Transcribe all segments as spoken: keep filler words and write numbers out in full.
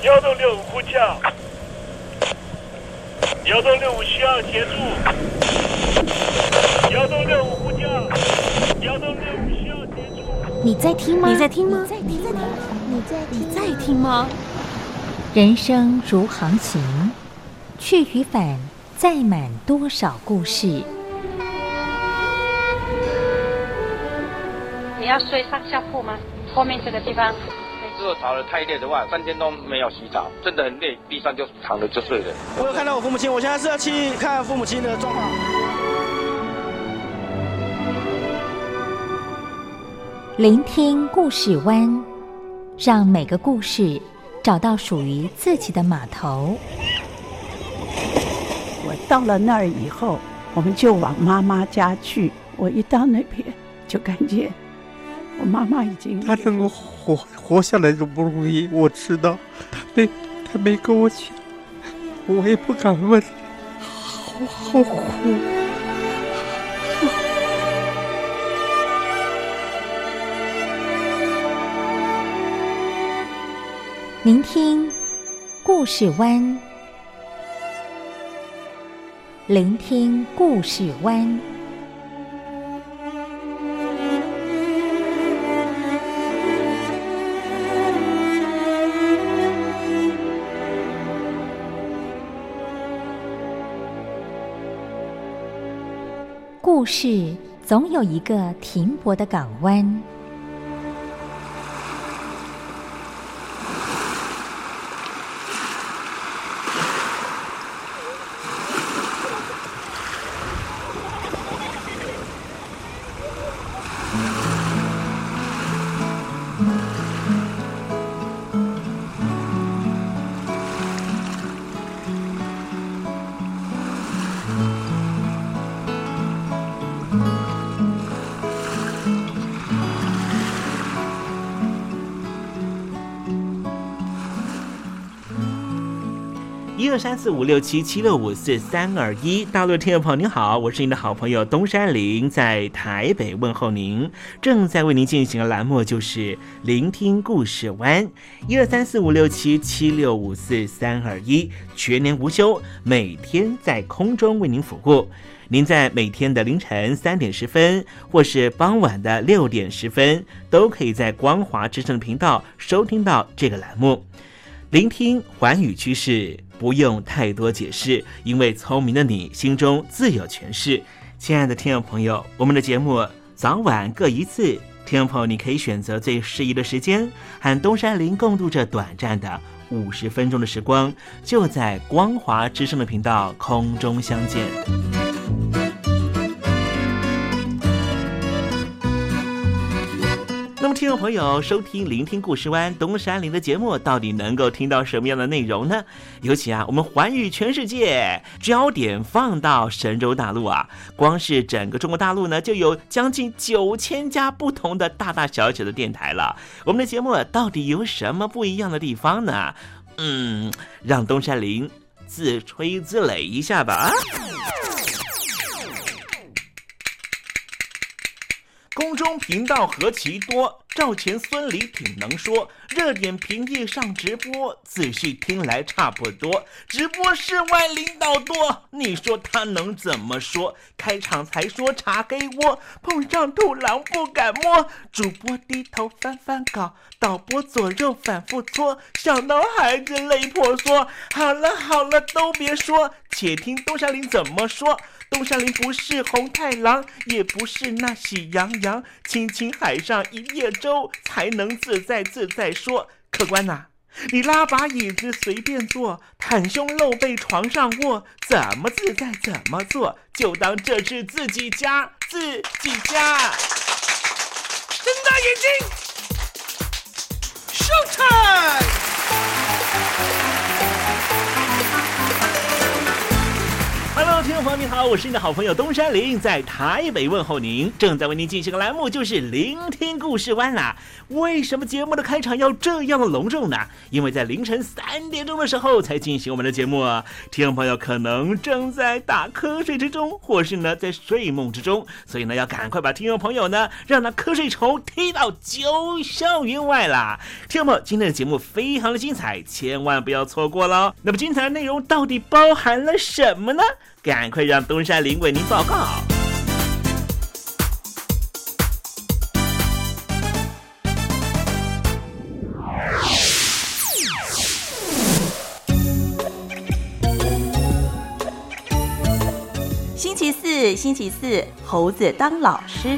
幺洞六五呼叫，幺洞六五需要协助，幺洞六五呼叫，幺洞六五需要协助。 你在听吗？ 你在听吗？ 你在听吗？你在你在听吗？ 人生如航行，去与返，载满多少故事。 你要睡上下铺吗？后面这个地方。 如果吵得太累的话，三天都没有洗澡，真的很累，地上就躺着就睡了。 我有看到我父母亲，我现在是要去看父母亲的状况。 聆听故事湾，让每个故事找到属于自己的码头。 我到了那儿以后，我们就往妈妈家去。我一到那边，就感觉我妈妈已经她能够活活下来都不容易，我知道。她没她没跟我讲，我也不敢问，好好苦。 聆听故事湾，聆听故事湾。故事总有一个停泊的港湾。 一二三四五六七七六五四三二一，大陆的听众朋友您好，我是您的好朋友东山林，在台北问候您。正在为您进行的栏目就是聆听故事湾，一二三四五六七七六五四三二一，全年无休，每天在空中为您服务。您在每天的凌晨三点十分，或是傍晚的六点十分，都可以在光华之声的频道收听到这个栏目。聆听寰宇趋势，不用太多解释，因为聪明的你心中自有诠释。亲爱的听众朋友，我们的节目早晚各一次，听众朋友你可以选择最适宜的时间，和东山林共度这短暂的五十分钟的时光，就在光华之声的频道空中相见。那么听众朋友收听聆听故事湾东山林的节目，到底能够听到什么样的内容呢？尤其啊，我们寰宇全世界，焦点放到神州大陆啊，光是整个中国大陆呢，就有将近九千家不同的大大小小的电台了。我们的节目到底有什么不一样的地方呢？嗯，让东山林自吹自擂一下吧。空中频道何其多，赵钱孙李挺能说，热点评议上直播，仔细听来差不多。直播室外领导多，你说他能怎么说？开场才说查黑窝，碰上土狼不敢摸。主播低头翻翻稿，导播左右反复搓，想到孩子泪婆娑。好了好了，都别说，且听东山林怎么说。东山林不是红太狼，也不是那喜羊羊，亲亲海上一叶舟，才能自在自在说。客官呐、啊，你拉把椅子随便坐，袒胸露背床上卧，怎么自在怎么做，就当这是自己家，自己家。睁大眼睛 ，Showtime！Hello， 听众众朋友，你好，我是你的好朋友东山林，在台北问候您。正在为您进行的栏目就是聆听故事湾啦。为什么节目的开场要这样的隆重呢？因为在凌晨三点钟的时候才进行我们的节目啊。听众朋友可能正在打瞌睡之中，或是呢在睡梦之中，所以呢要赶快把听众朋友呢让那瞌睡虫踢到九霄云外啦。听众朋友，今天的节目非常的精彩，千万不要错过了。那么精彩的内容到底包含了什么呢？赶快让东山林为您报告。 星期四，星期四，猴子当老师。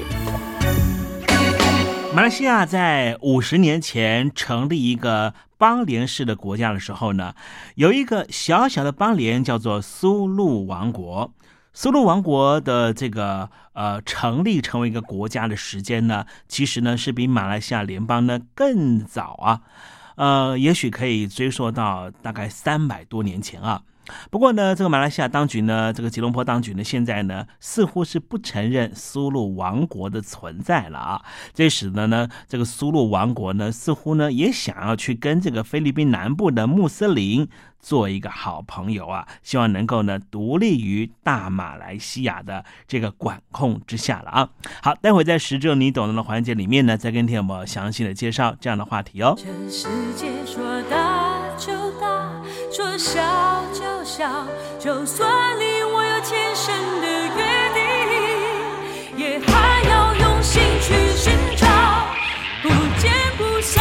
马来西亚在五十年前成立一个邦联式的国家的时候呢，有一个小小的邦联叫做苏禄王国。苏禄王国的这个呃成立成为一个国家的时间呢，其实呢是比马来西亚联邦呢更早啊，呃，也许可以追溯到大概三百多年前啊。不过呢，这个马来西亚当局呢，这个吉隆坡当局呢，现在呢似乎是不承认苏禄王国的存在了啊。这使得呢，这个苏禄王国呢，似乎呢也想要去跟这个菲律宾南部的穆斯林做一个好朋友啊，希望能够呢独立于大马来西亚的这个管控之下了啊。好，待会在时政你懂得的环节里面呢，再跟听友们详细的介绍这样的话题哦。 这世界说大就大，说小就小，就算离我有天生的约定，也还要用心去寻找，不见不散。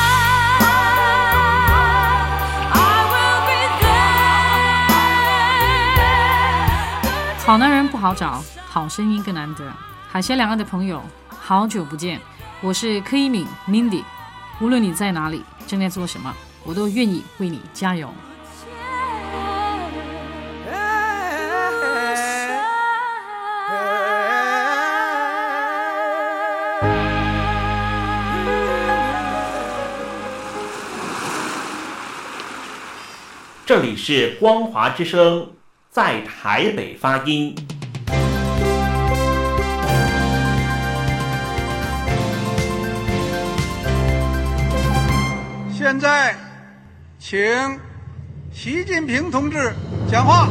好男人不好找，好声音更难得。海峡两岸的朋友，好久不见，我是柯一敏 Mindy。无论你在哪里，正在做什么，我都愿意为你加油。 这里是光华之声，在台北发音。 现在，请习近平同志讲话。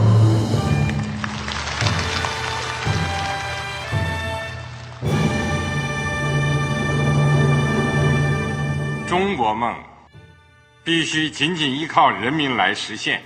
中国梦必须紧紧依靠人民来实现。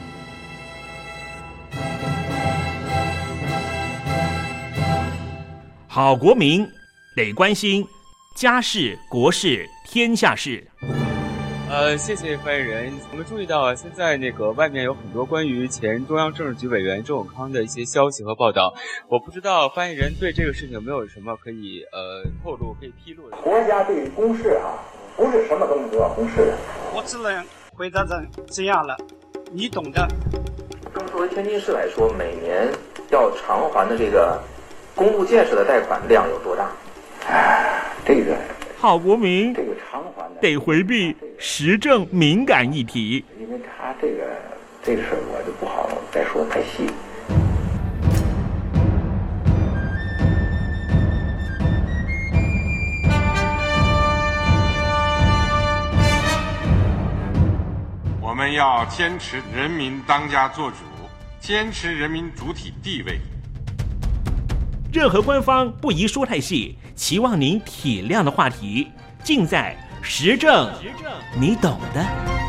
好国民得关心家事、国事、天下事。 呃，谢谢发言人。我们注意到，现在那个外面有很多关于前中央政治局委员周永康的一些消息和报道。我不知道发言人对这个事情有没有什么可以呃透露、可以披露的？ 国家对于公事啊，不是什么东西都要公示的。 我只能回答成这样了，你懂的。 那么作为天津市来说，每年要偿还的这个公路建设的贷款量有多大？哎，这个好国民这个偿还的得回避时政敏感议题， 因为他这个这个事儿我就不好再说太细。 我们要坚持人民当家作主，坚持人民主体地位。 任何官方不宜说太细，期望您体谅的话题，尽在时政，你懂的。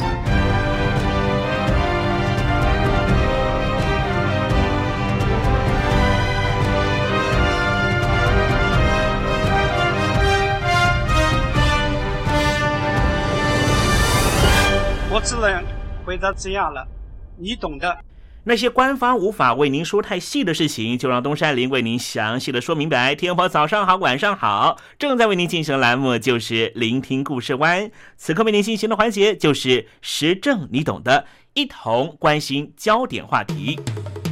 我只能回答这样了，你懂的。 那些官方无法为您说太细的事情，就让东山林为您详细的说明白。天婆早上好，晚上好，正在为您进行的栏目就是聆听故事湾，此刻为您进行的环节就是时政你懂的，一同关心焦点话题。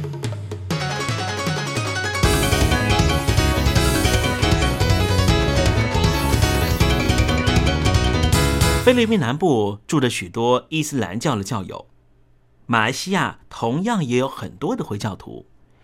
菲律宾南部住着许多伊斯兰教的教友，马来西亚同样也有很多的回教徒。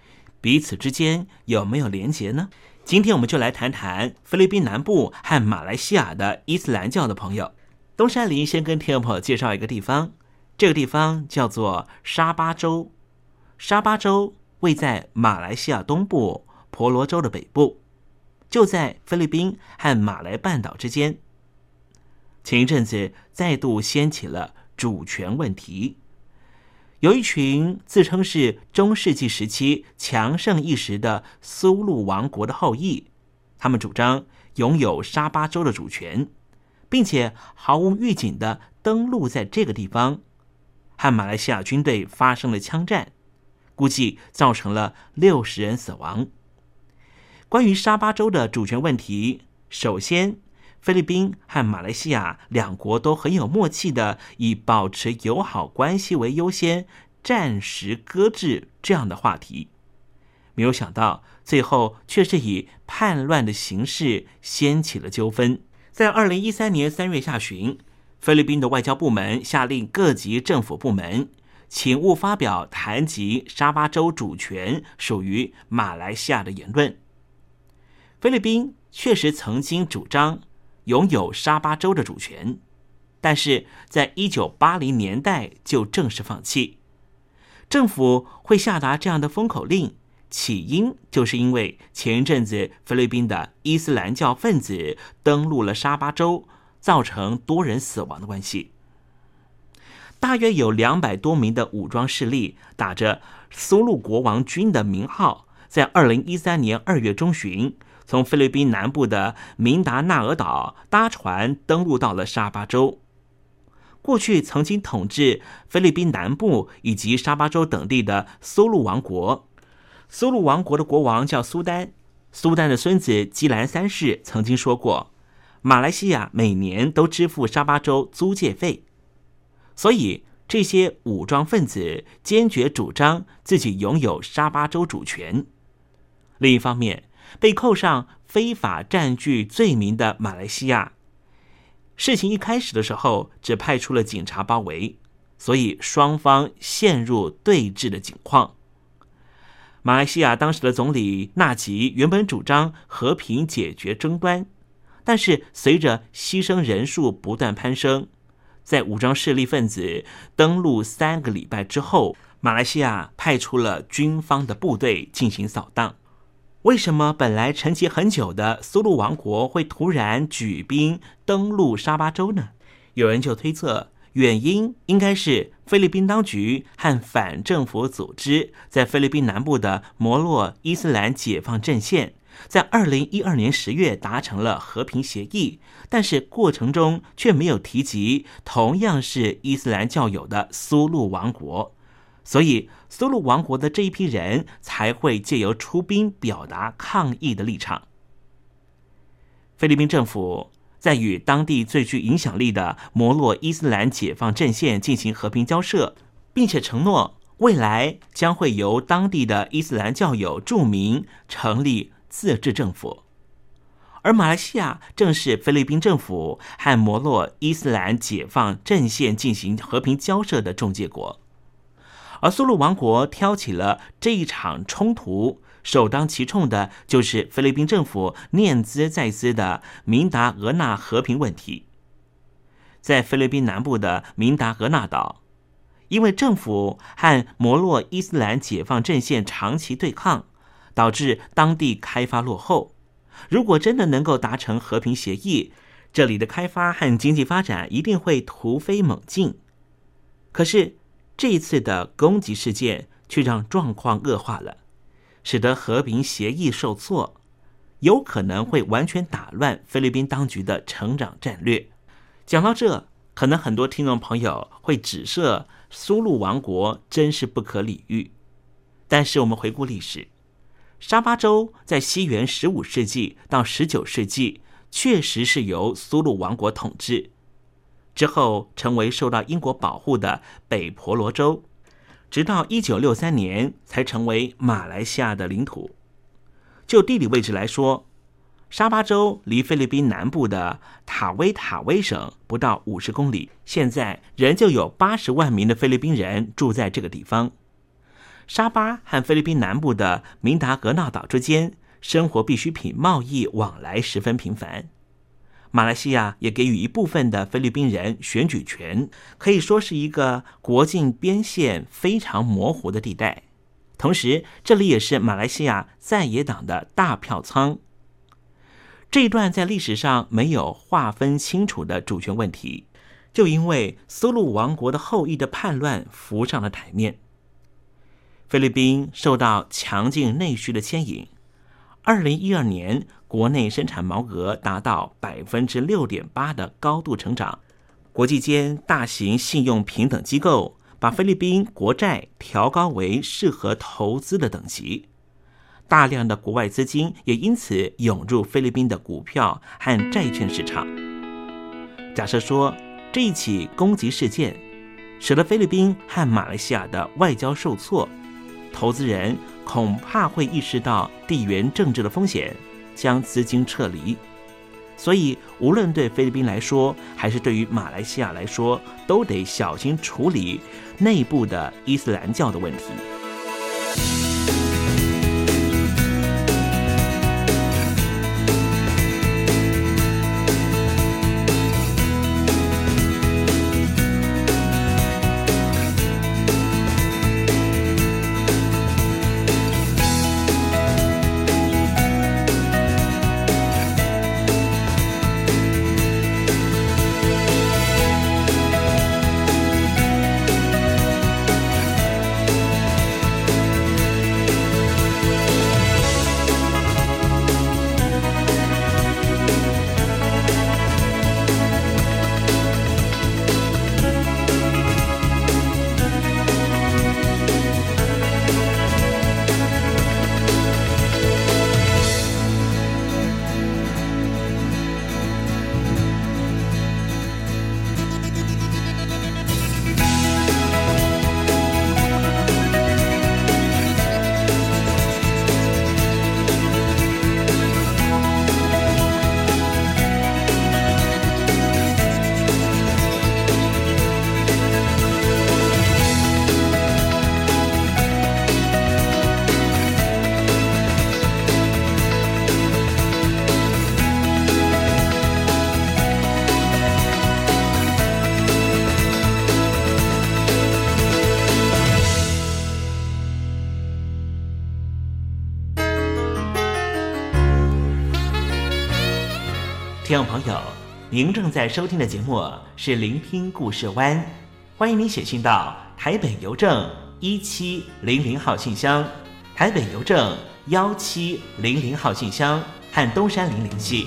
彼此之间有没有连结呢？今天我们就来谈谈菲律宾南部和马来西亚的伊斯兰教的朋友。东山林先跟听众朋友介绍一个地方，这个地方叫做沙巴州。沙巴州位在马来西亚东部婆罗洲的北部，就在菲律宾和马来半岛之间。前一阵子再度掀起了主权问题，有一群自称是中世纪时期强盛一时的苏禄王国的后裔，他们主张拥有沙巴州的主权，并且毫无预警地登陆在这个地方，和马来西亚军队发生了枪战，估计造成了六十人死亡。关于沙巴州的主权问题，首先菲律宾和马来西亚两国都很有默契的以保持友好关系为优先，暂时搁置这样的话题。没有想到最后却是以叛乱的形式掀起了纠纷。在二零一三年三月下旬，菲律宾的外交部门下令各级政府部门请勿发表谈及沙巴州主权属于马来西亚的言论。菲律宾确实曾经主张拥有沙巴州的主权，但是在一九八零年代就正式放弃。政府会下达这样的封口令，起因就是因为前一阵子菲律宾的伊斯兰教分子登陆了沙巴州，造成多人死亡的关系。大约有两百多名的武装势力打着苏禄国王军的名号，在二零一三年二月中旬从菲律宾南部的明达纳尔岛搭船登陆到了沙巴州。过去曾经统治菲律宾南部以及沙巴州等地的苏禄王国，苏禄王国的国王叫苏丹，苏丹的孙子基兰三世曾经说过，马来西亚每年都支付沙巴州租借费，所以这些武装分子坚决主张自己拥有沙巴州主权。另一方面，被扣上非法占据罪名的马来西亚，事情一开始的时候只派出了警察包围，所以双方陷入对峙的境况。马来西亚当时的总理纳吉原本主张和平解决争端，但是随着牺牲人数不断攀升，在武装势力分子登陆三个礼拜之后，马来西亚派出了军方的部队进行扫荡。为什么本来沉寂很久的苏禄王国会突然举兵登陆沙巴州呢？有人就推测，原因应该是菲律宾当局和反政府组织在菲律宾南部的摩洛伊斯兰解放阵线在二零一二年十月达成了和平协议，但是过程中却没有提及同样是伊斯兰教友的苏禄王国，所以苏禄王国的这一批人才会借由出兵表达抗议的立场。菲律宾政府在与当地最具影响力的摩洛伊斯兰解放阵线进行和平交涉，并且承诺未来将会由当地的伊斯兰教友著名成立自治政府。而马来西亚正是菲律宾政府和摩洛伊斯兰解放阵线进行和平交涉的中介国。而苏禄王国挑起了这一场冲突，首当其冲的就是菲律宾政府念兹在兹的明达俄纳和平问题。在菲律宾南部的明达俄纳岛，因为政府和摩洛伊斯兰解放阵线长期对抗，导致当地开发落后。如果真的能够达成和平协议，这里的开发和经济发展一定会突飞猛进。可是这一次的攻击事件却让状况恶化了，使得和平协议受挫，有可能会完全打乱菲律宾当局的成长战略。讲到这，可能很多听众朋友会指责苏禄王国真是不可理喻。但是我们回顾历史，沙巴州在西元十五世纪到十九世纪确实是由苏禄王国统治，之后成为受到英国保护的北婆罗洲，直到一九六三年才成为马来西亚的领土。就地理位置来说，沙巴州离菲律宾南部的塔威塔威省不到五十公里，现在仍旧有八十万名的菲律宾人住在这个地方。 沙巴和菲律宾南部的明达格纳岛之间，生活必需品贸易往来十分频繁。马来西亚也给予一部分的菲律宾人选举权，可以说是一个国境边线非常模糊的地带。同时，这里也是马来西亚在野党的大票仓。这一段在历史上没有划分清楚的主权问题，就因为苏禄王国的后裔的叛乱浮上了台面。菲律宾受到强劲内需的牵引，二零一二年国内生产毛额达到百分之六点八的高度成长。国际间大型信用平等机构把菲律宾国债调高为适合投资的等级，大量的国外资金也因此涌入菲律宾的股票和债券市场。假设说这一起攻击事件使得菲律宾和马来西亚的外交受挫，投资人恐怕会意识到地缘政治的风险，将资金撤离。所以无论对菲律宾来说还是对于马来西亚来说，都得小心处理内部的伊斯兰教的问题。听众朋友，您正在收听的节目是聆听故事湾，欢迎您写信到台北邮政一七零零号信箱，台北邮政幺七零零号信箱和东山林联系。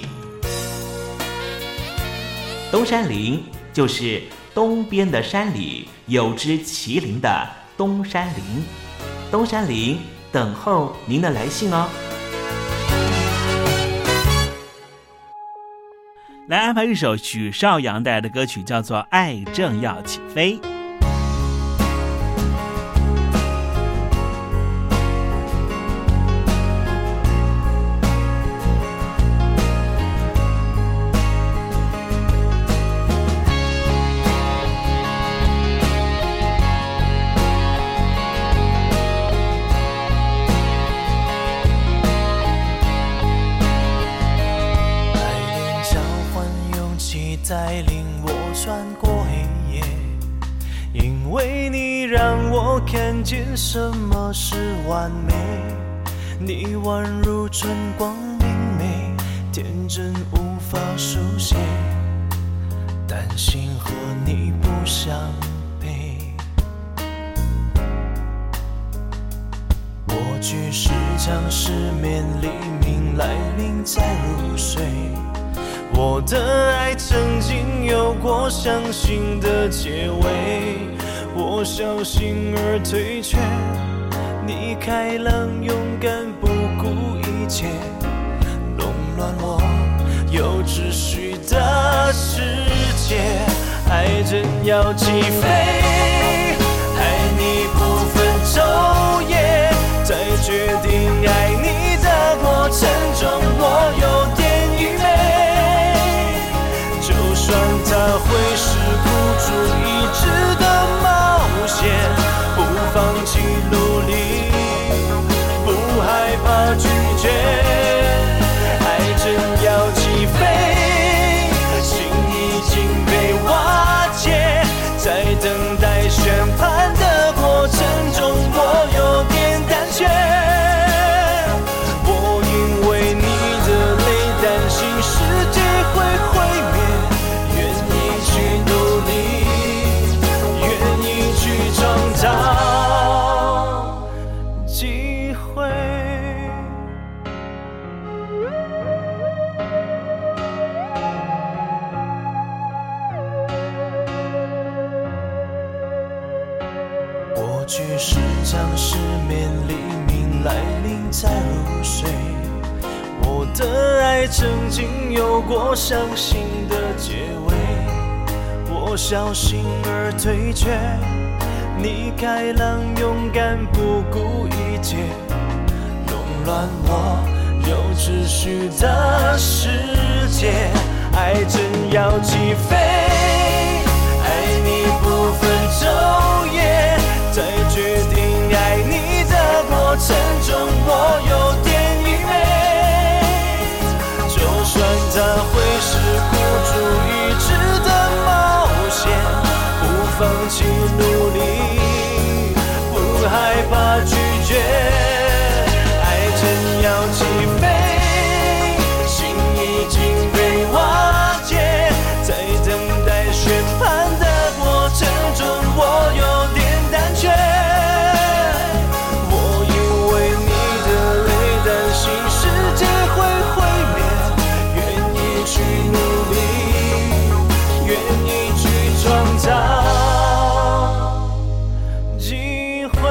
东山林就是东边的山里有只麒麟的东山林，东山林等候您的来信哦。来安排一首许绍洋带来的歌曲，叫做《爱正要起飞》。 带领我穿过黑夜，因为你让我看见什么是完美。你宛如春光明媚，天真无法书写，担心和你不相配。我去时常失眠，黎明来临才入睡。我的爱曾经有过伤心的结尾，我小心而退却，你开朗勇敢不顾一切，弄乱我有秩序的世界。爱正要起飞，爱你不分昼夜，在决定爱你的过程中，我有点愚昧。就算它会是孤注一掷的冒险，不放弃努力去时常失眠，黎明来临才入睡。我的爱曾经有过伤心的结尾，我小心而退却，你开朗勇敢不顾一切，弄乱我有秩序的世界。爱正要起飞，爱你不分昼夜，在决定爱你的过程中我有点愚昧，就算它会是孤注一掷的冒险，不放弃努力，不害怕拒绝。爱正要起飞，心已经被瓦解，在等待宣判的过程中我有点胆怯。我以为你的泪担心世界会毁灭，愿意去努力，愿意去创造机会。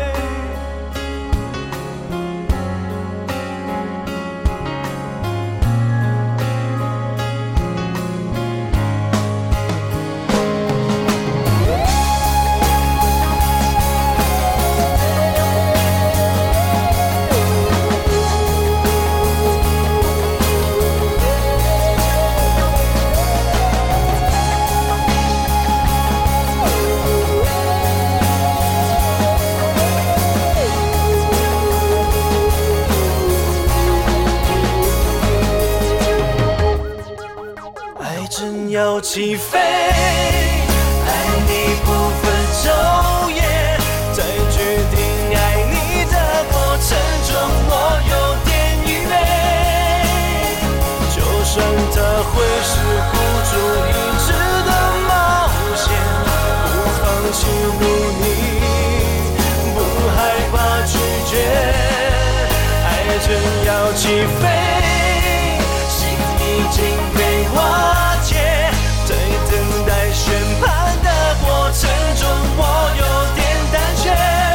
要起飞，爱你不分昼夜，在决定爱你的过程中我有点愚昧，就算它会是孤注一掷的冒险，不放弃努力，不害怕拒绝。爱正要起飞，心已经被瓦解，在等待宣判的过程中我有点胆怯。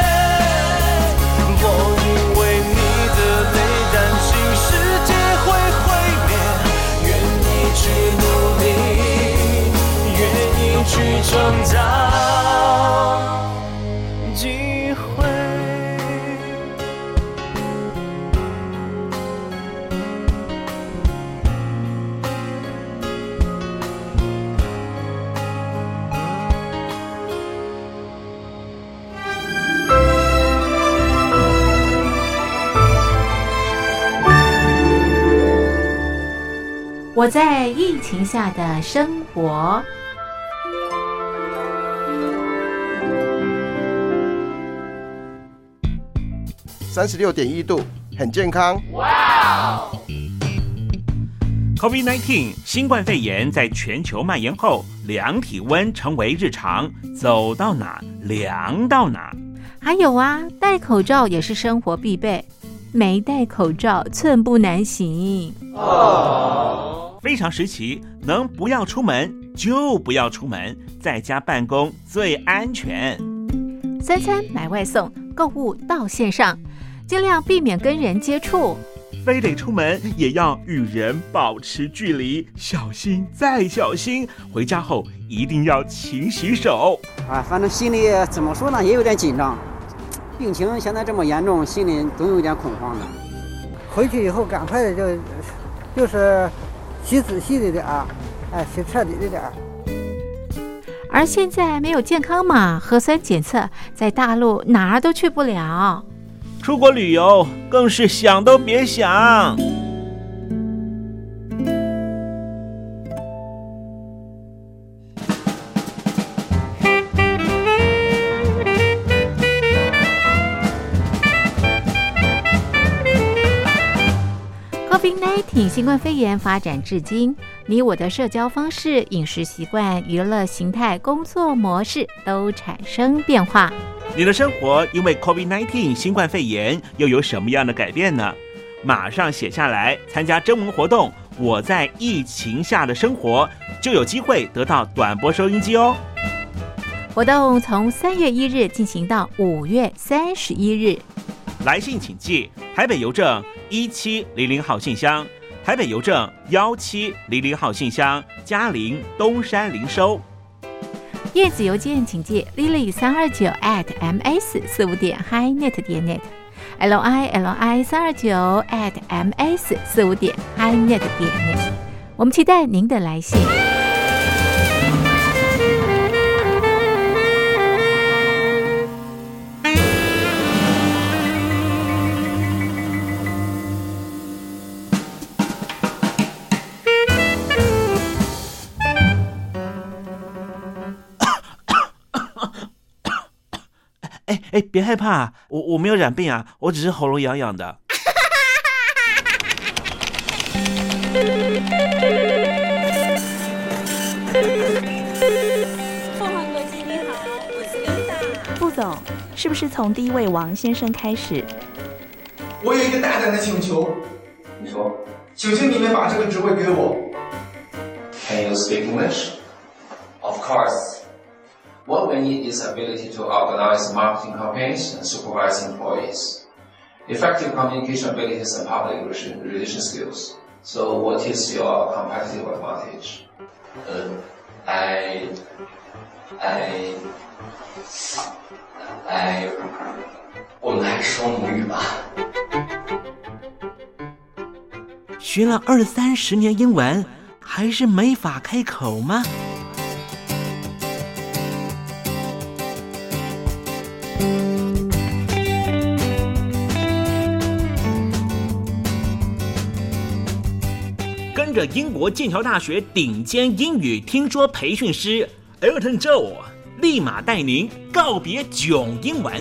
我以为你的泪担心世界会毁灭，愿意去努力，愿意去创造机会。 我在疫情下的生活。 三十六点一度，很健康。 哇 ！COVID 十九 新冠肺炎在全球蔓延后，量体温成为日常，走到哪量到哪。 还有啊，戴口罩也是生活必备，没戴口罩寸步难行。 哦。非常时期，能不要出门就不要出门，在家办公最安全。 三餐买外送，购物到线上，尽量避免跟人接触。 非得出门也要与人保持距离，小心再小心。回家后一定要勤洗手。 啊，反正心里怎么说呢，也有点紧张。病情现在这么严重，心里总有点恐慌的。 回去以后赶快的就就是洗仔细的点儿，哎，洗彻底的点儿。 而现在没有健康码、核酸检测，在大陆哪儿都去不了。 出国旅游更是想都别想。 COVID 十九 新冠肺炎发展至今，你我的社交方式、饮食习惯、娱乐形态、工作模式都产生变化。 你的生活因为 COVID 十九 新冠肺炎又有什么样的改变呢？马上写下来，参加征文活动，我在疫情下的生活，就有机会得到短波收音机哦。 活动从三月一日进行到五月三十一日。 来信请寄台北邮政一七零零号信箱，台北邮政一七零零号信箱，嘉陵东山零收。 电子邮件请寄 lily 三二九 at ms 四五点 highnet 点 net l i l i 三二九 at ms 四五点 highnet 点 net。我们期待您的来信。 哎哎，别害怕，我我没有染病啊，我只是喉咙痒痒的。 凤凰国际你好，我是刘大。副总，是不是从第一位王先生开始？ 我有一个大胆的请求， 你说， 请请你们把这个职位给我。 Can you speak English? Of course. What we need is ability to organize marketing campaigns and supervise employees, effective communication abilities and public relation skills. So what is your competitive advantage? Uh, I, I, I, 我们还是说母语吧。 学了二三十年英文，还是没法开口吗？跟着英国剑桥大学顶尖英语听说培训师 Elton Joe 立马带您告别囧英文。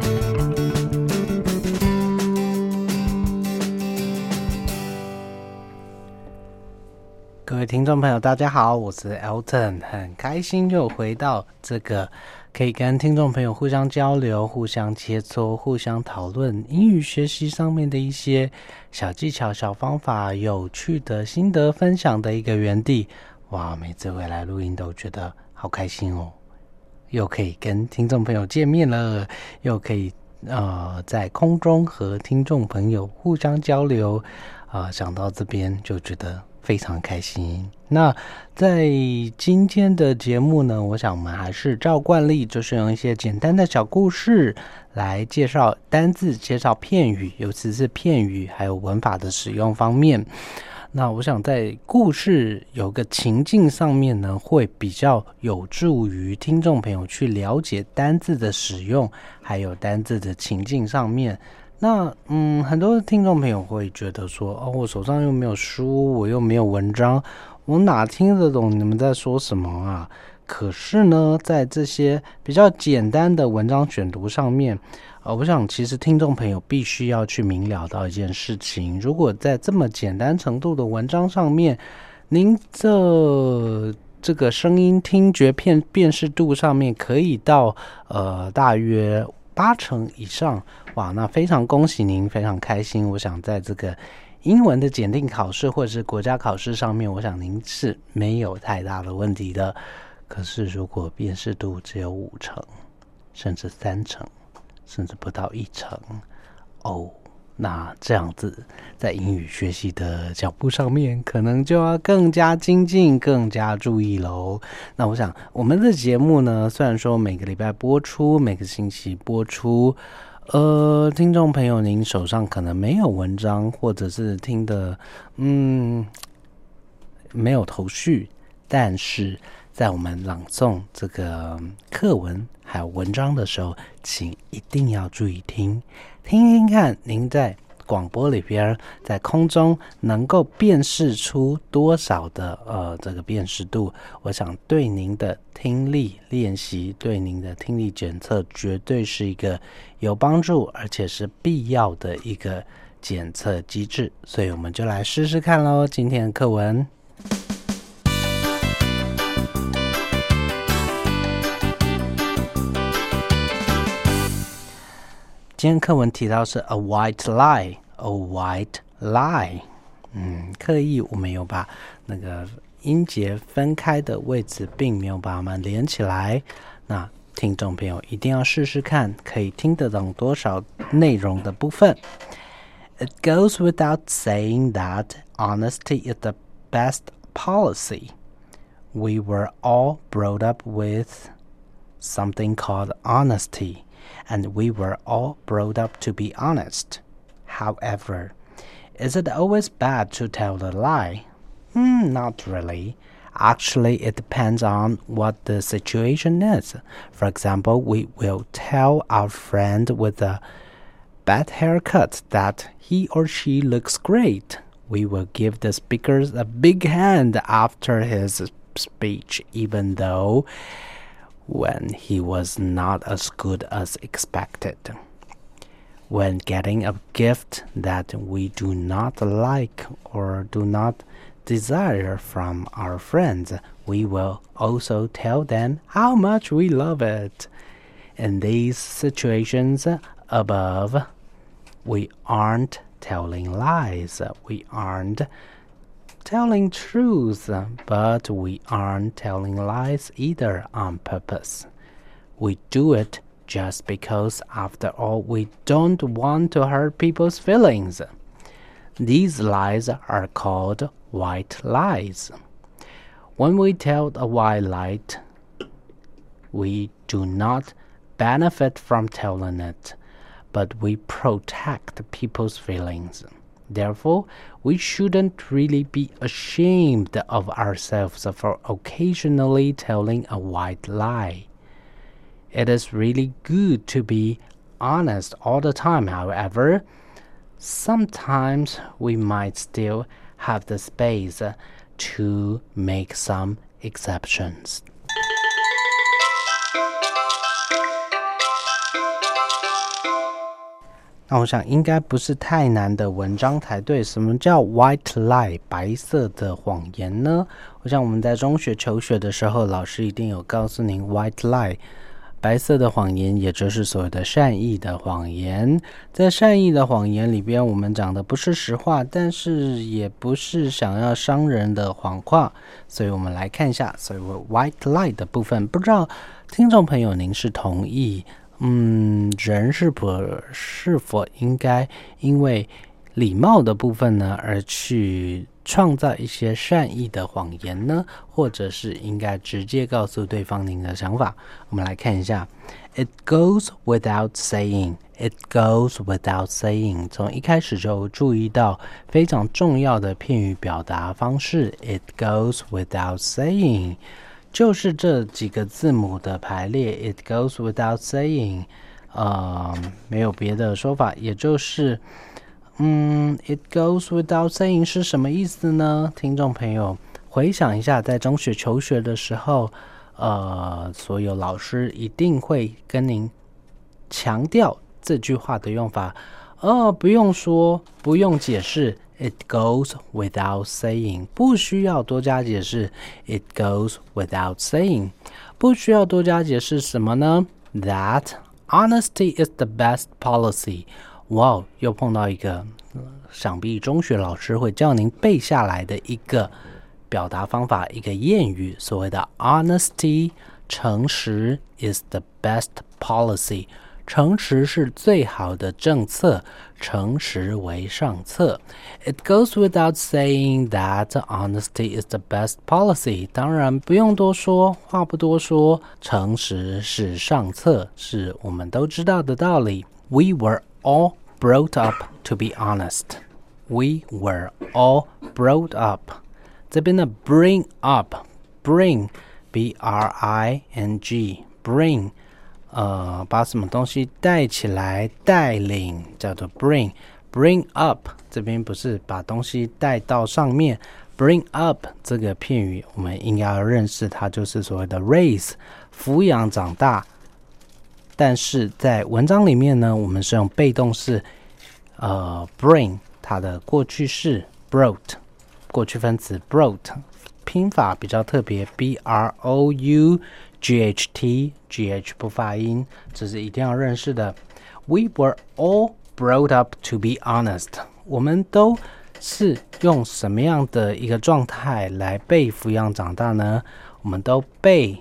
各位听众朋友大家好，我是 Elton， 很开心又回到这个可以跟听众朋友互相交流、互相切磋、互相讨论英语学习上面的一些小技巧、小方法、有趣的心得分享的一个园地。哇，每次回来录音都觉得好开心哦，又可以跟听众朋友见面了，又可以呃在空中和听众朋友互相交流，呃想到这边就觉得非常开心。那在今天的节目呢，我想我们还是照惯例，就是用一些简单的小故事来介绍单字、介绍片语，尤其是片语还有文法的使用方面。那我想在故事有个情境上面呢，会比较有助于听众朋友去了解单字的使用，还有单字的情境上面。那嗯，很多听众朋友会觉得说，哦，我手上又没有书，我又没有文章，我哪听得懂你们在说什么啊？可是呢，在这些比较简单的文章选读上面，呃，我想其实听众朋友必须要去明了到一件事情，如果在这么简单程度的文章上面，您这这个声音听觉辨辨识度上面可以到呃大约八成以上，哇，那非常恭喜您，非常开心。我想在这个英文的检定考试或者是国家考试上面，我想您是没有太大的问题的。可是如果辨识度只有五成，甚至三成，甚至不到一成，哦，那这样子在英语学习的脚步上面，可能就要更加精进，更加注意咯。那我想我们的节目呢，虽然说每个礼拜播出，每个星期播出，呃，听众朋友您手上可能没有文章，或者是听的嗯没有头绪，但是在我们朗诵这个课文还有文章的时候，请一定要注意听听听看，您在广播里边在空中能够辨识出多少的呃这个辨识度，我想对您的听力练习，对您的听力检测绝对是一个有帮助而且是必要的一个检测机制。所以我们就来试试看咯，今天的课文。今天课文提到是 a white lie， a white lie， 嗯，刻意我们有把那个音节分开的位置并没有把它们连起来。那听众朋友一定要试试看，可以听得懂多少内容的部分。It goes without saying that honesty is the best policy. We were all brought up with something called honesty, and we were all brought up to be honest. However, is it always bad to tell a lie? Hmm, not really. Actually, it depends on what the situation is. For example, we will tell our friend with a bad haircut that he or she looks great. We will give the speaker a big hand after his speech, even though when he was not as good as expected. When getting a gift that we do not like or do not desire from our friends, we will also tell them how much we love it. In these situations above, we aren't telling lies. We aren't telling truth, but we aren't telling lies either on purpose. We do it just because, after all, we don't want to hurt people's feelings. These lies are called white lies. When we tell a white lie, we do not benefit from telling it, but we protect people's feelings. Therefore, we shouldn't really be ashamed of ourselves for occasionally telling a white lie. It is really good to be honest all the time. However, sometimes we might still have the space to make some exceptions. 那我想应该不是太难的文章才对。什么叫 white lie 白色的谎言呢？我想我们在中学求学的时候，老师一定有告诉您 white lie 白色的谎言，也就是所谓的善意的谎言。在善意的谎言里边，我们讲的不是实话，但是也不是想要伤人的谎话。所以我们来看一下所谓 white lie 的部分。不知道听众朋友您是同意嗯，人是否是否应该因为礼貌的部分呢，而去创造一些善意的谎言呢？或者是应该直接告诉对方您的想法？我们来看一下 It goes without saying. It goes without saying. 从一开始就注意到非常重要的片语表达方式 It goes without saying，就是这几个字母的排列 It goes without saying， 呃，没有别的说法，也就是嗯 It goes without saying 是什么意思呢？听众朋友回想一下，在中学求学的时候，呃，所有老师一定会跟您强调这句话的用法，呃，不用说，不用解释It goes without saying， 不需要多加解释 It goes without saying， 不需要多加解释什么呢？ That honesty is the best policy。 哇，又碰到一个想必中学老师会叫您背下来的一个表达方法，一个谚语，所谓的 honesty， 诚实 is the best policy，诚实是最好的政策，诚实为上策。 It goes without saying that honesty is the best policy。 当然不用多说，话不多说，诚实是上策，是我们都知道的道理。 We were all brought up to be honest. We were all brought up， 这边的 bring up， bring B R I N G bring呃，把什么东西带起来，带领，叫做 bring bring up。 这边不是把东西带到上面， bring up 这个片语我们应该要认识，它就是所谓的 raise， 抚养长大。但是在文章里面呢，我们是用被动式呃 bring， 它的过去式 brought， 过去分词 brought， 拼法比较特别 B R O U G H T G H 不发音，这是一定要认识的。 We were all brought up to be honest。 我们都是用什么样的一个状态来被抚养长大呢？我们都被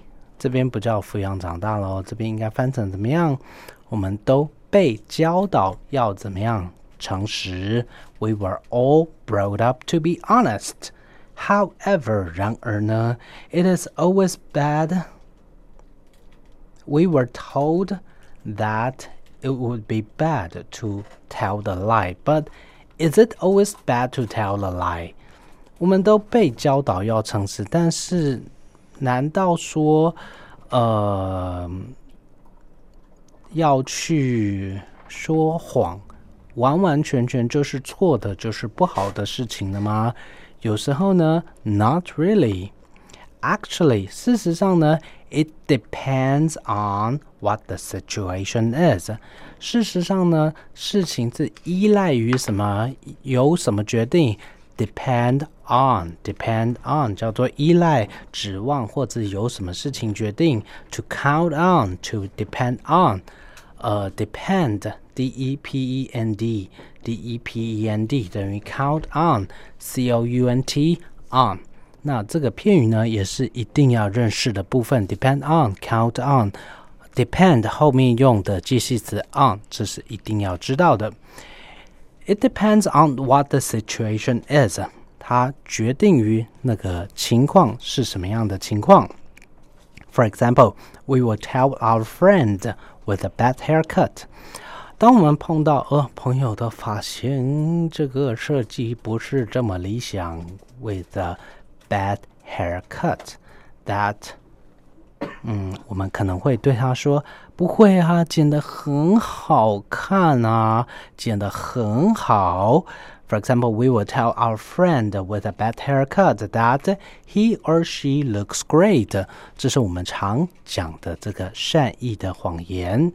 这边不叫抚养长大咯，这边应该翻成怎么样？我们都被教导要怎么样诚实。 We were all brought up to be honest. However, 然而呢 it is always bad. We were told that it would be bad to tell the lie, but is it always bad to tell the lie? 我们都被教导要诚实，但是难道说呃要去说谎完完全全就是错的，就是不好的事情了吗？有时候呢 not really. Actually, 事实上呢 it depends on what the situation is. 事实上呢事情是依赖于什么，由什么决定， depend on. Depend on 叫做依赖、指望或者由什么事情决定。 To count on, to depend on. 呃 depend, D E P E N D, D E P E N D 等于 count on, C O U N T, on. 那这个片语呢也是一定要认识的部分， depend on, count on. Depend 后面用的介系词 on， 这是一定要知道的。 It depends on what the situation is. 它决定于那个情况是什么样的情况。 For example, we will tell our friend with a bad haircut. 当我们碰到呃朋友的发型这个设计不是这么理想 with a bad haircut, that 嗯我们可能会对他说，不会啊，剪得很好看啊，剪得很好。 For example, we will tell our friend with a bad haircut that he or she looks great. 这是我们常讲的这个善意的谎言。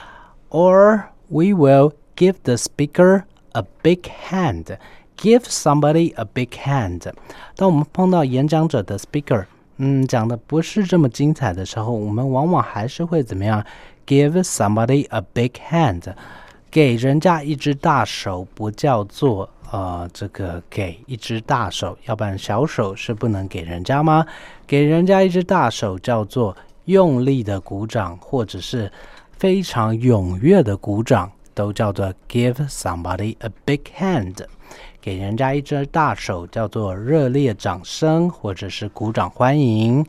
Or we will give the speaker a big hand. Give somebody a big hand. 当我们碰到演讲者的 speaker 嗯，讲的不是这么精彩的时候，我们往往还是会怎么样 give somebody a big hand. 给人家一只大手不叫做呃，这个给一只大手，要不然小手是不能给人家吗？给人家一只大手叫做用力的鼓掌，或者是非常踊跃的鼓掌，都叫做 give somebody a big hand. 给人家一只大手叫做热烈掌声，或者是鼓掌欢迎。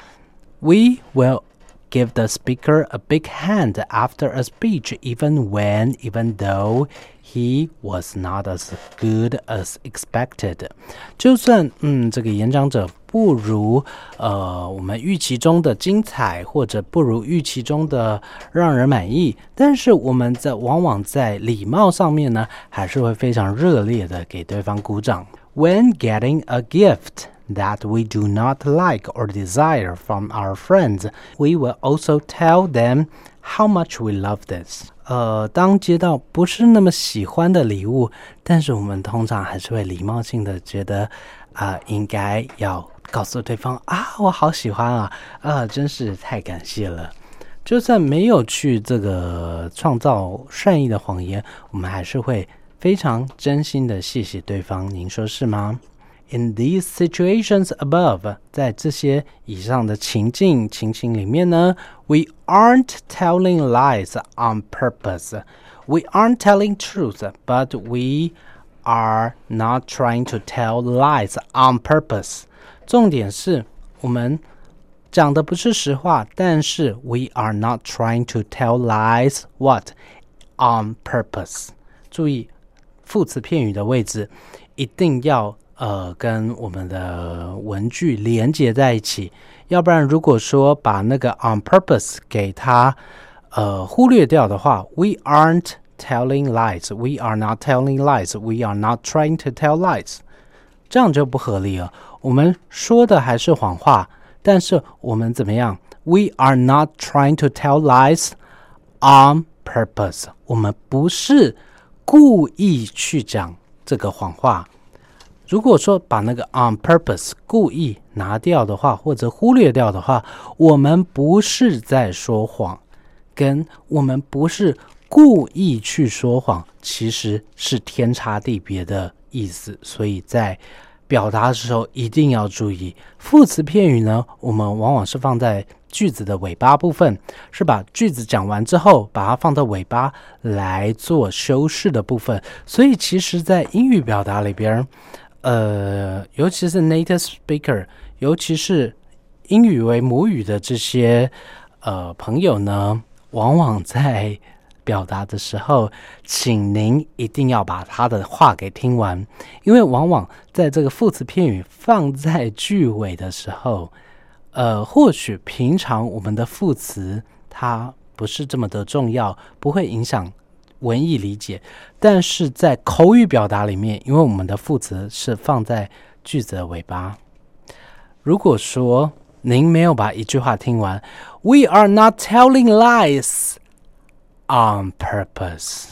We will give the speaker a big hand after a speech, even when, even though he was not as good as expected. 就算嗯这个演讲者不如呃我们预期中的精彩，或者不如预期中的让人满意，但是我们在往往在礼貌上面呢，还是会非常热烈的给对方鼓掌。 When getting a gift that we do not like or desire from our friends, we will also tell them how much we love this. 呃，当接到不是那么喜欢的礼物，但是我们通常还是会礼貌性的觉得啊、呃，应该要告诉对方啊，我好喜欢啊，啊，真是太感谢了。就算没有去这个创造善意的谎言，我们还是会非常真心的谢谢对方，您说是吗？ In these situations above, 在这些以上的情境情形里面呢 we aren't telling lies on purpose. We aren't telling truth, but we are not trying to tell lies on purpose. 重点是我们讲的不是实话，但是 we are not trying to tell lies what? On purpose. 注意副词片语的位置一定要呃，跟我们的文句连接在一起，要不然如果说把那个 on purpose 给它呃忽略掉的话 we aren't telling lies, we are not telling lies, we are not trying to tell lies, 这样就不合理了。我们说的还是谎话，但是我们怎么样 we are not trying to tell lies on purpose, 我们不是故意去讲这个谎话。如果说把那个 on purpose 故意拿掉的话，或者忽略掉的话，我们不是在说谎，跟我们不是故意去说谎其实是天差地别的意思。所以在表达的时候一定要注意，副词片语呢，我们往往是放在句子的尾巴部分，是把句子讲完之后把它放到尾巴来做修饰的部分。所以其实在英语表达里边，呃，尤其是 native speaker， 尤其是英语为母语的这些呃朋友呢，往往在表达的时候，请您一定要把他的话给听完，因为往往在这个副词片语放在句尾的时候，呃，或许平常我们的副词它不是这么的重要，不会影响文意理解，但是在口语表达里面，因为我们的副词是放在句子的尾巴，如果说您没有把一句话听完 We are not telling lies on purpose.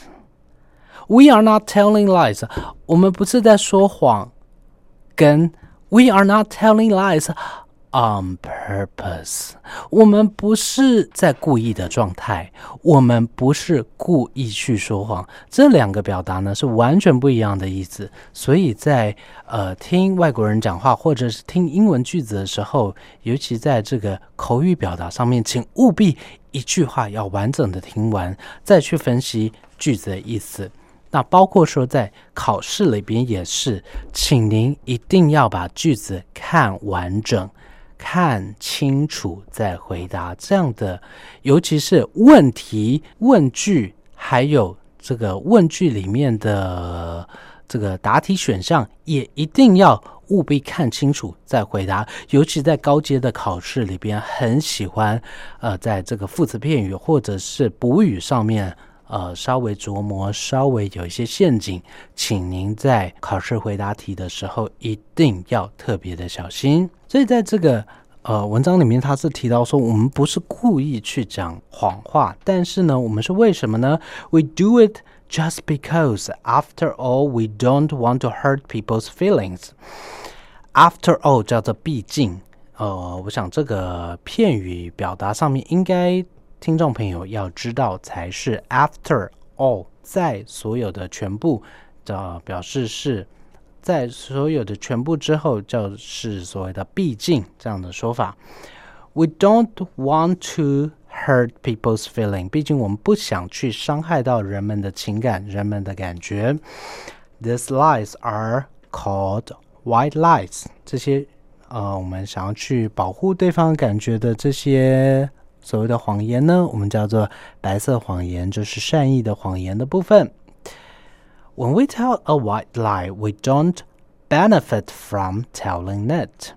We are not telling lies. 我们不是在说谎，跟 We are not telling lies on purpose. 我们不是在故意的状态，我们不是故意去说谎。这两个表达呢是完全不一样的意思。所以在呃听外国人讲话或者是听英文句子的时候，尤其在这个口语表达上面，请务必一句话要完整的听完，再去分析句子的意思。那包括说在考试里边也是，请您一定要把句子看完整，看清楚再回答。这样的，尤其是问题、问句，还有这个问句里面的这个答题选项，也一定要务必看清楚再回答。尤其在高阶的考试里边，很喜欢呃，在这个副词片语或者是补语上面呃，稍微琢磨，稍微有一些陷阱，请您在考试回答题的时候一定要特别的小心。所以在这个呃文章里面，他是提到说，我们不是故意去讲谎话，但是呢，我们是为什么呢 ？We do it just because, after all, we don't want to hurt people's feelings. After all 叫做毕竟，呃，我想这个片语表达上面应该听众朋友要知道才是 after all， 在所有的全部的表示是在所有的全部之后，就是所谓的毕竟这样的说法。We don't want to hurt people's feeling， 毕竟我们不想去伤害到人们的情感，人们的感觉。These lies are called white lies， 这些呃，我们想要去保护对方感觉的这些所谓的谎言呢，我们叫做白色谎言，就是善意的谎言的部分。When we tell a white lie, we don't benefit from telling it.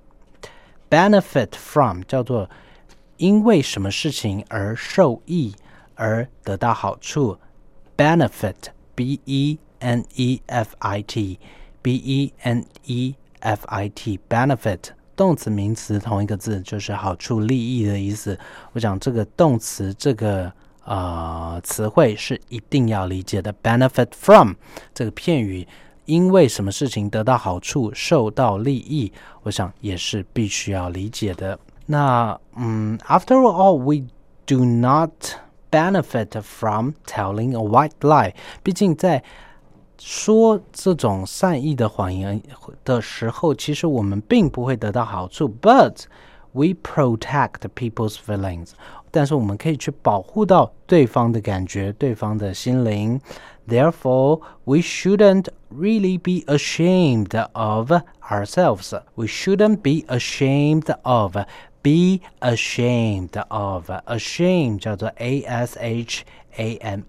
Benefit from 叫做因为什么事情而受益，而得到好处。Benefit, B E N E F I T, B E N E F I T, benefit。动词名词同一个字，就是好处利益的意思。我讲这个动词这个呃词汇是一定要理解的。 benefit from 这个片语因为什么事情得到好处，受到利益，我想也是必须要理解的。那嗯 after all, we do not benefit from telling a white lie， 毕竟在说这种善意的谎言的时候，其实我们并不会得到好处。But we protect people's feelings， 但是我们可以去保护到对方的感觉，对方的心灵。Therefore, we shouldn't really be ashamed of ourselves. We shouldn't be ashamed of. Be ashamed of. Ashamed 叫做 A S H A M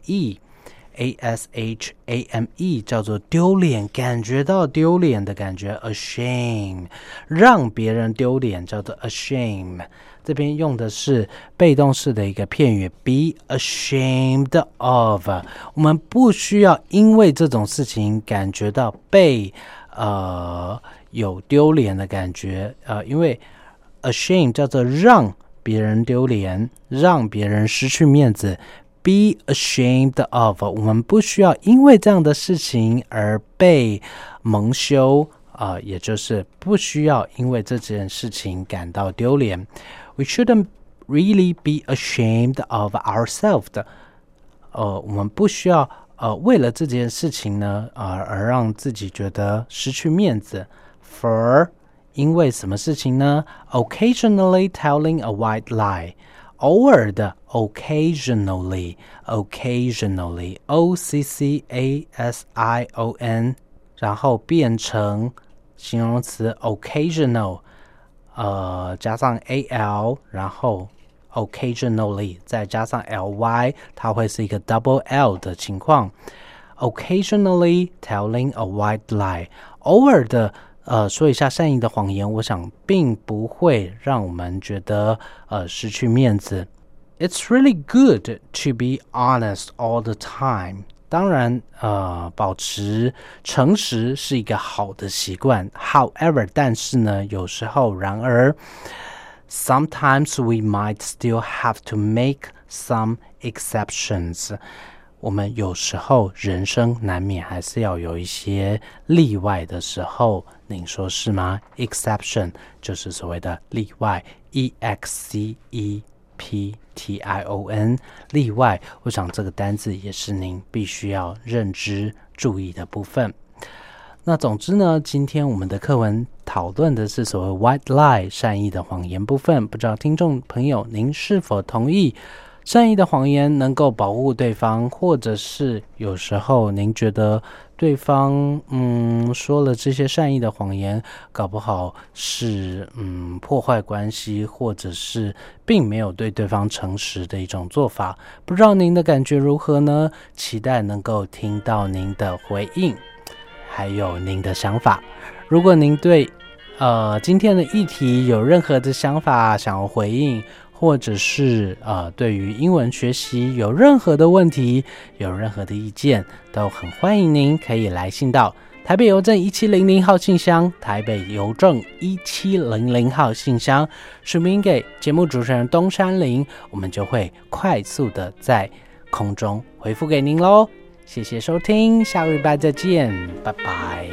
E。A S H A M E 叫做丢脸，感觉到丢脸的感觉。 Ashame 让别人丢脸叫做 ashame， 这边用的是被动式的一个片语 be ashamed of， 我们不需要因为这种事情感觉到被呃有丢脸的感觉，呃，因为 ashame 叫做让别人丢脸，让别人失去面子。Be ashamed of， 我们不需要因为这样的事情而被蒙羞，呃，也就是不需要因为这件事情感到丢脸。We shouldn't really be ashamed of ourselves， 呃，我们不需要呃为了这件事情呢，呃，而让自己觉得失去面子。For 因为什么事情呢？ Occasionally telling a white lie， 偶尔的 occasionally occasionally O C C A S I O N， 然后变成形容词 occasional， 呃，加上 A L， 然后 occasionally 再加上 L Y， 它会是一个 double L 的情况。 Occasionally telling a white lie， 偶尔的呃，说一下善意的谎言，我想并不会让我们觉得呃失去面子。It's really good to be honest all the time。当然，呃，保持诚实是一个好的习惯。However， 但是呢，有时候，然而 ，sometimes we might still have to make some exceptions。我们有时候人生难免还是要有一些例外的时候，您说是吗？ Exception 就是所谓的例外 ，E X C E P T I O N 例外。我想这个单字也是您必须要认知注意的部分。那总之呢，今天我们的课文讨论的是所谓 white lie 善意的谎言部分，不知道听众朋友您是否同意？善意的谎言能够保护对方，或者是有时候您觉得对方嗯说了这些善意的谎言，搞不好是嗯破坏关系，或者是并没有对对方诚实的一种做法。不知道您的感觉如何呢？期待能够听到您的回应，还有您的想法。如果您对呃今天的议题有任何的想法想要回应，或者是呃，对于英文学习有任何的问题，有任何的意见，都很欢迎您可以来信到台北邮政一七零零号信箱，台北邮政一七零零号信箱，署名给节目主持人东山林，我们就会快速的在空中回复给您咯。谢谢收听，下个礼拜再见，拜拜。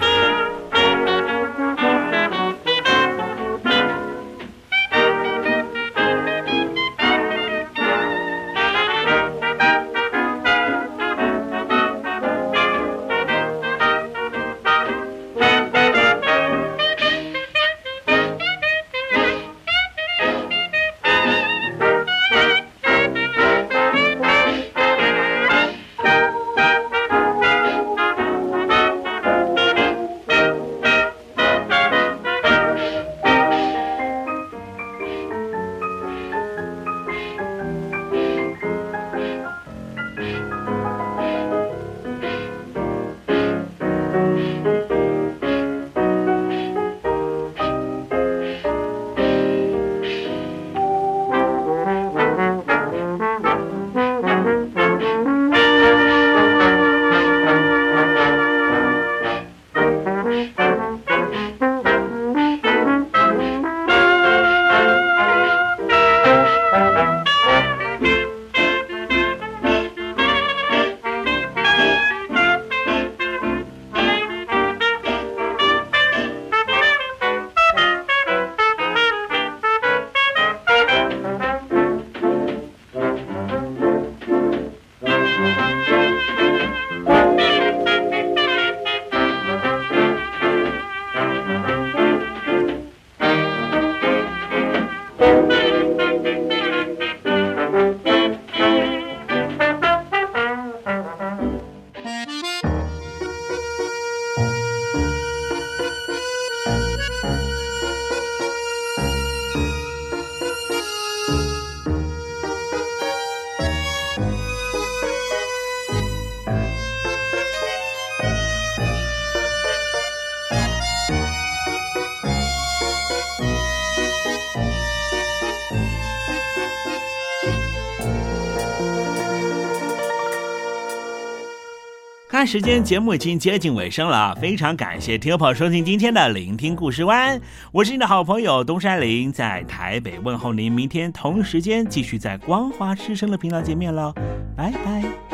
看时间，节目已经接近尾声了，非常感谢听众朋友收听今天的聆听故事湾，我是你的好朋友东山林，在台北问候您，明天同时间继续在光华之声的频道见面了，拜拜。